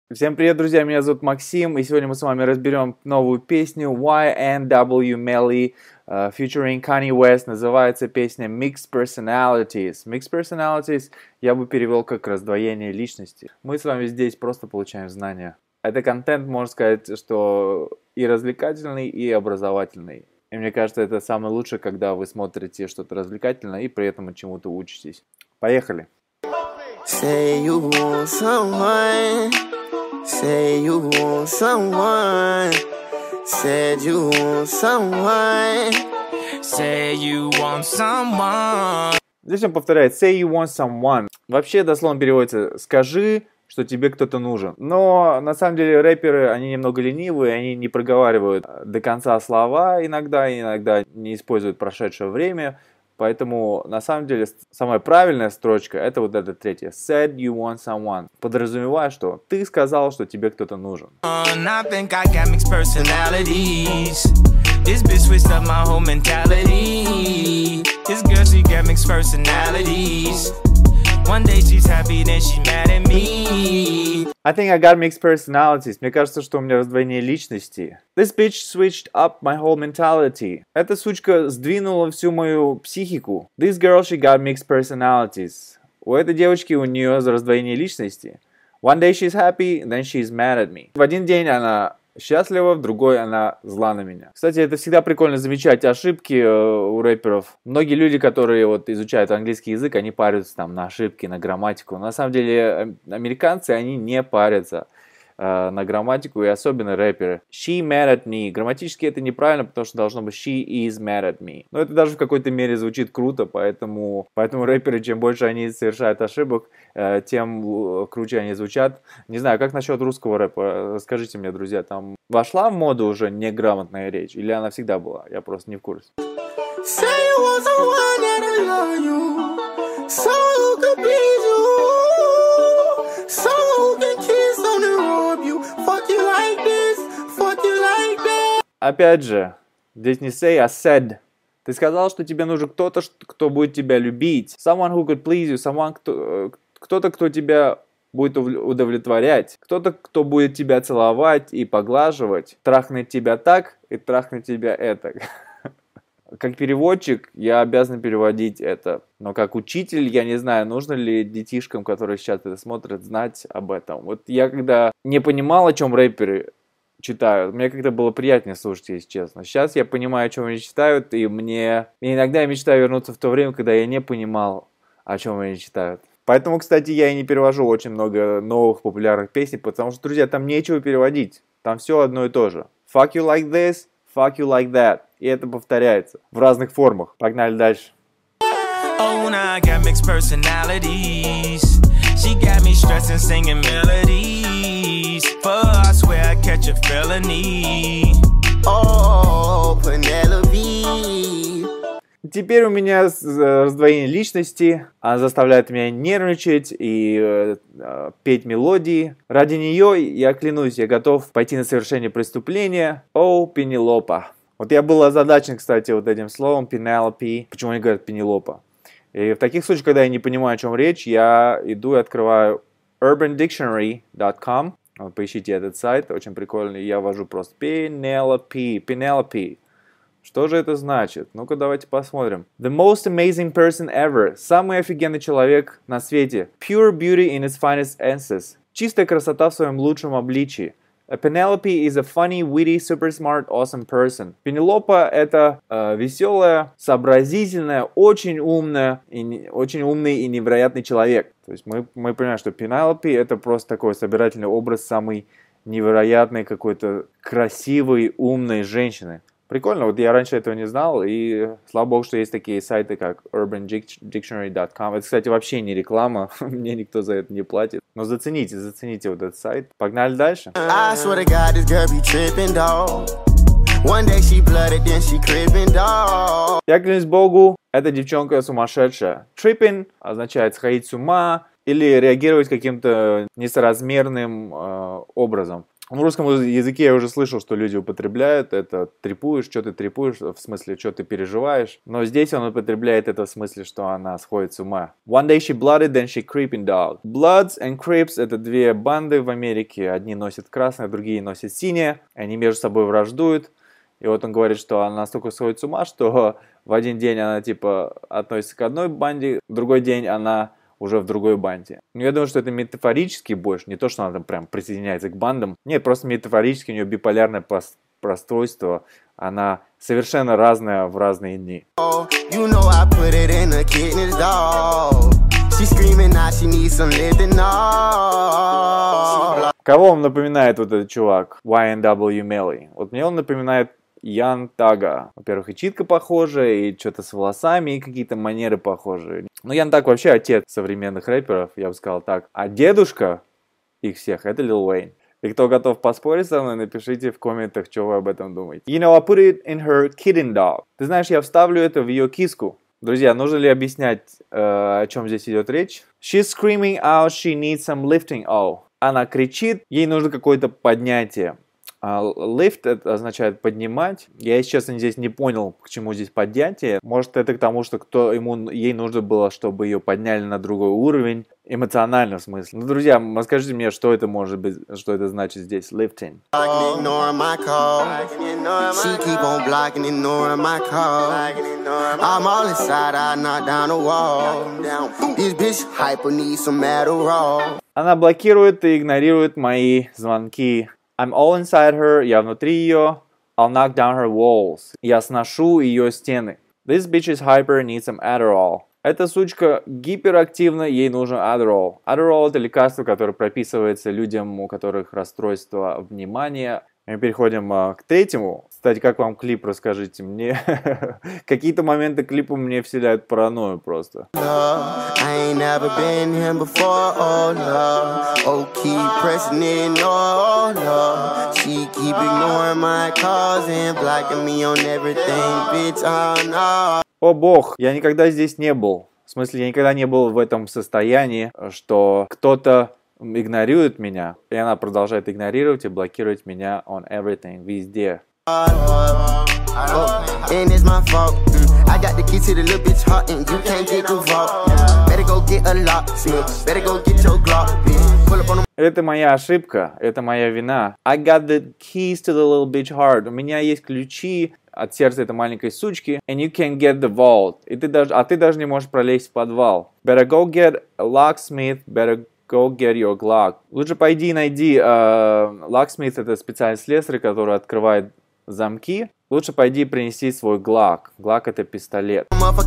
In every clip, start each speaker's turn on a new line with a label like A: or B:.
A: Всем привет, друзья, меня зовут Максим, и сегодня мы с вами разберем новую песню YNW Melly featuring Kanye West. Называется песня Mixed Personalities. Mixed Personalities я бы перевел как раздвоение личности. Мы с вами здесь просто получаем знания. Это контент, можно сказать, что и развлекательный, и образовательный. И мне кажется, это самое лучшее, когда вы смотрите что-то развлекательное и при этом чему-то учитесь. Поехали!
B: Say you want someone. Say you want someone. Said you want someone.
C: Say you want someone.
A: Здесь он повторяет say you want someone. Вообще дословно переводится скажи, что тебе кто-то нужен. Но на самом деле рэперы, они немного ленивые, они не проговаривают до конца слова иногда не используют прошедшее время. Поэтому, на самом деле, самая правильная строчка, это вот эта третья. Said you want someone. Подразумевая, что ты сказал, что тебе кто-то нужен.
C: I think I got mixed personalities. This bitch switched up my whole mentality. This girl, she got mixed personalities. One day she's happy, then she's mad at me.
A: I think I got mixed personalities. Мне кажется, что у меня раздвоение личности. This bitch switched up my whole mentality. Эта сучка сдвинула всю мою психику. This girl, she got mixed personalities. У этой девочки у нее раздвоение личности. One day she's happy, then she's mad at me. В один день она счастлива, в другой она зла на меня. Кстати, это всегда прикольно замечать ошибки у рэперов. Многие люди, которые вот изучают английский язык, они парятся там на ошибки, на грамматику. На самом деле, американцы, они не парятся на грамматику, и особенно рэперы. She mad at me. Грамматически это неправильно, потому что должно быть she is mad at me. Но это даже в какой-то мере звучит круто, поэтому рэперы, чем больше они совершают ошибок, тем круче они звучат. Не знаю, как насчет русского рэпа? Скажите мне, друзья, там вошла в моду уже неграмотная речь, или она всегда была? Я просто не в курсе. Опять же, здесь не say, а said. Ты сказал, что тебе нужен кто-то, кто будет тебя любить. Someone who could please you. Кто-то, кто тебя будет удовлетворять. Кто-то, кто будет тебя целовать и поглаживать. Трахнет тебя так и трахнет тебя это. Как переводчик я обязан переводить это. Но как учитель я не знаю, нужно ли детишкам, которые сейчас это смотрят, знать об этом. Вот я когда не понимал, о чем рэперы читают, мне как-то было приятнее слушать, если честно. Сейчас я понимаю, о чем они читают, и иногда я мечтаю вернуться в то время, когда я не понимал, о чем они читают. Поэтому, кстати, я и не перевожу очень много новых популярных песен, потому что, друзья, там нечего переводить. Там все одно и то же. Fuck you like this, fuck you like that. И это повторяется в разных формах. Погнали дальше.
C: Oh, now I got mixed personalities. She got me stressing, singing melodies. For I swear I catch a felony.
B: Oh, Penelope.
A: Теперь у меня раздвоение личности. Она заставляет меня нервничать и петь мелодии. Ради нее, я клянусь, я готов пойти на совершение преступления. Oh, Пенелопа. Вот я был озадачен, кстати, вот этим словом Penelope. Почему они говорят Пенелопа? И в таких случаях, когда я не понимаю, о чем речь, я иду и открываю urbandictionary.com. Вот, поищите этот сайт, очень прикольный. Я ввожу просто Penelope. Что же это значит? Ну-ка, давайте посмотрим. The most amazing person ever. Самый офигенный человек на свете. Pure beauty in its finest essence. Чистая красота в своем лучшем обличии. A Penelope is a funny, witty, super smart, awesome person. Пенелопа — это веселая, сообразительная, очень умный и невероятный человек. То есть мы понимаем, что Пенелопе — это просто такой собирательный образ самой невероятной, какой-то красивой, умной женщины. Прикольно, вот я раньше этого не знал, и слава богу, что есть такие сайты, как urbandictionary.com. Это, кстати, вообще не реклама, мне никто за это не платит. Но зацените вот этот сайт. Погнали дальше. Я клянусь богу, эта девчонка сумасшедшая. Tripping означает сходить с ума или реагировать каким-то несоразмерным образом. В русском языке я уже слышал, что люди употребляют это трепуешь, что ты трепуешь, в смысле, что ты переживаешь. Но здесь он употребляет это в смысле, что она сходит с ума. One day she blooded, then she creeping dog. Bloods and Crips — это две банды в Америке. Одни носят красное, другие носят синее. Они между собой враждуют. И вот он говорит, что она настолько сходит с ума, что в один день она типа относится к одной банде, в другой день она уже в другой банде. Но я думаю, что это метафорически больше, не то, что она там прям присоединяется к бандам. Нет, просто метафорически у нее биполярное расстройство. Она совершенно разная в разные дни.
B: You know I put it in a kidney's dog. She screaming now she needs some living up.
A: Кого вам напоминает вот этот чувак? YNW Melly. Вот мне он напоминает Ян Тага. Во-первых, и читка похожая, и что-то с волосами, и какие-то манеры похожие. Ну, Ян Таг вообще отец современных рэперов, я бы сказал так. А дедушка их всех — это Lil Wayne. И кто готов поспорить со мной, напишите в комментах, что вы об этом думаете. You know, I put it in her kitten dog. Ты знаешь, я вставлю это в ее киску. Друзья, нужно ли объяснять, о чем здесь идет речь? She's screaming out she needs some lifting. Oh. Она кричит, ей нужно какое-то поднятие. Lift — это означает поднимать. Я, если честно, здесь не понял, к чему здесь поднятие. Может, это к тому, что ей нужно было, чтобы ее подняли на другой уровень, эмоционально в смысле. Ну, друзья, расскажите мне, что это может быть, что это значит здесь, lifting. Она блокирует и игнорирует мои звонки. I'm all inside her, я внутри ее. I'll knock down her walls. Я сношу ее стены. This bitch is hyper, needs some Adderall. Эта сучка гиперактивна, ей нужен Adderall. Adderall — это лекарство, которое прописывается людям, у которых расстройство внимания. Мы переходим к третьему. Кстати, как вам клип, расскажите мне. Какие-то моменты клипа мне вселяют паранойю просто. О бог, я никогда здесь не был. В смысле, я никогда не был в этом состоянии, что кто-то игнорирует меня, и она продолжает игнорировать и блокировать меня on everything, везде. Это моя ошибка, это моя вина. I got the keys to the little bitch heart. У меня есть ключи от сердца этой маленькой сучки. And you can get the vault. Ты даже не можешь пролезть в подвал. Better go get a locksmith, better go get your Glock. Лучше пойди найди locksmith — это специальный слесарь, который открывает замки. Лучше пойди принеси свой Glock. Glock — это пистолет.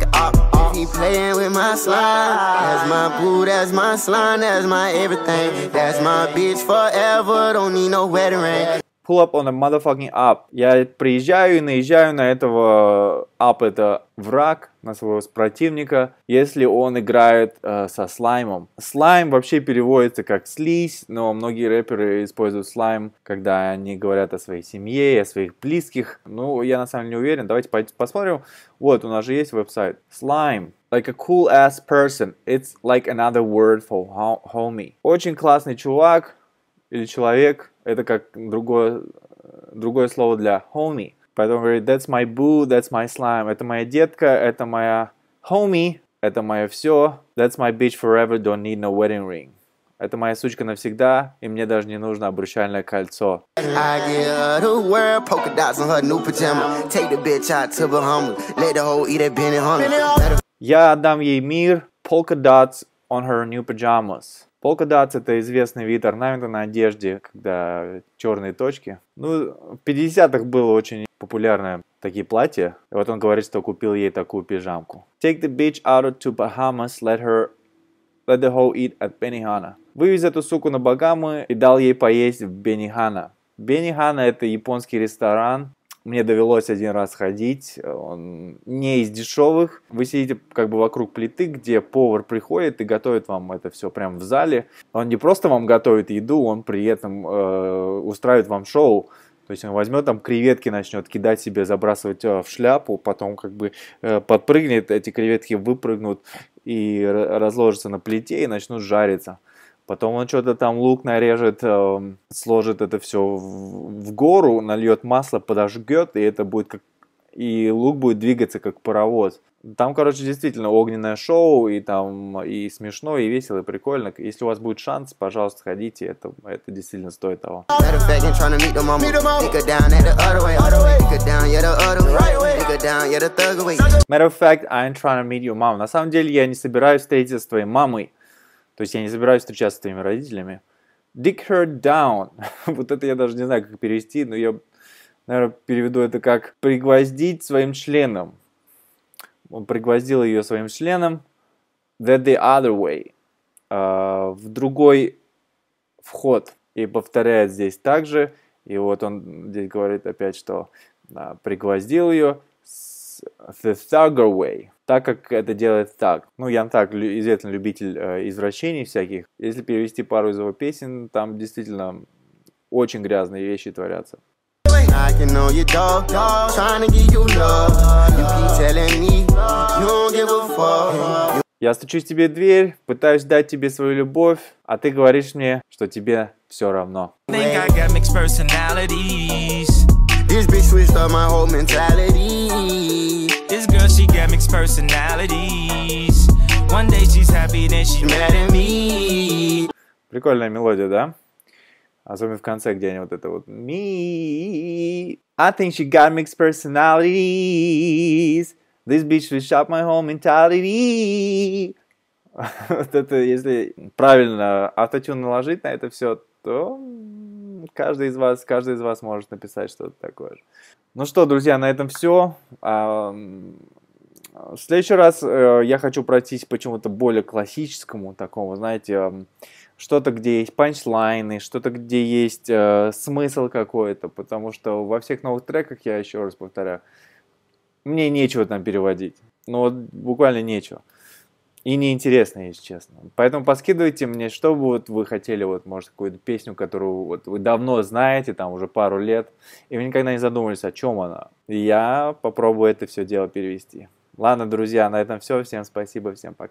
A: Pull up on a motherfucking up. Я приезжаю и наезжаю на этого up — это враг, на своего противника, если он играет со слаймом. Слайм вообще переводится как слизь, но многие рэперы используют слайм, когда они говорят о своей семье, о своих близких. Ну, я на самом деле не уверен. Давайте посмотрим. Вот, у нас же есть веб-сайт. Slime. Like a cool ass person. It's like another word for homie. Очень классный чувак или человек. Это как другое слово для homie. Поэтому говорит, that's my boo, that's my slime. Это моя детка, это моя homie, это мое все. That's my bitch forever, don't need no wedding ring. Это моя сучка навсегда, и мне даже не нужно обручальное кольцо. Я отдам ей мир, polka dots on her new pajamas. Polka dots — это известный вид орнамента на одежде, когда черные точки. Ну, в 50-х было очень популярно такие платья. И вот он говорит, что купил ей такую пижамку. Take the bitch out to Bahamas, let the hoe eat at Benihana. Вывез эту суку на Багамы и дал ей поесть в Бенихана. Бенихана — это японский ресторан. Мне довелось один раз ходить, он не из дешевых. Вы сидите как бы вокруг плиты, где повар приходит и готовит вам это все прямо в зале. Он не просто вам готовит еду, он при этом устраивает вам шоу. То есть он возьмет там креветки, начнет кидать себе, забрасывать в шляпу, потом как бы подпрыгнет, эти креветки выпрыгнут и разложатся на плите и начнут жариться. Потом он что-то там лук нарежет, сложит это все в гору, нальет масло, подожгет, и это будет как... И лук будет двигаться как паровоз. Там, короче, действительно огненное шоу, и там и смешно, и весело, и прикольно. Если у вас будет шанс, пожалуйста, сходите, это действительно стоит того.
B: Matter of fact,
A: I ain't trying to meet your mom. На самом деле, я не собираюсь встретиться с твоей мамой. То есть я не собираюсь встречаться с твоими родителями. Dick her down. Вот это я даже не знаю, как перевести, но я, наверное, переведу это как пригвоздить своим членом. Он пригвоздил ее своим членом. That the other way. В другой вход. И повторяет здесь также. И вот он здесь говорит опять, что пригвоздил ее the thugger way. Так как это делает так. Ну, Ян Так, известный любитель извращений всяких. Если перевести пару из его песен, там действительно очень грязные вещи творятся. Я стучусь тебе в дверь, пытаюсь дать тебе свою любовь, а ты говоришь мне, что тебе все равно.
B: This bitch switched up my whole mentality.
C: This girl, she got mixed personalities. One day she's happy, then she's mad at me.
A: Прикольная мелодия, да? Особенно в конце, где они вот это вот me. I think she got mixed personalities. This bitch switched up my whole mentality. Вот это, если правильно автотюн наложить на это все, то каждый из вас может написать что-то такое же. Ну что, друзья, на этом все. В следующий раз я хочу пройтись почему-то более классическому такому, знаете, что-то, где есть панчлайны, что-то, где есть смысл какой-то, потому что во всех новых треках, я еще раз повторяю, мне нечего там переводить. Ну вот буквально нечего. И неинтересно, если честно. Поэтому поскидывайте мне, что бы вот вы хотели, вот, может, какую-то песню, которую вот вы давно знаете, там уже пару лет, и вы никогда не задумывались, о чем она. И я попробую это все дело перевести. Ладно, друзья, на этом все. Всем спасибо, всем пока.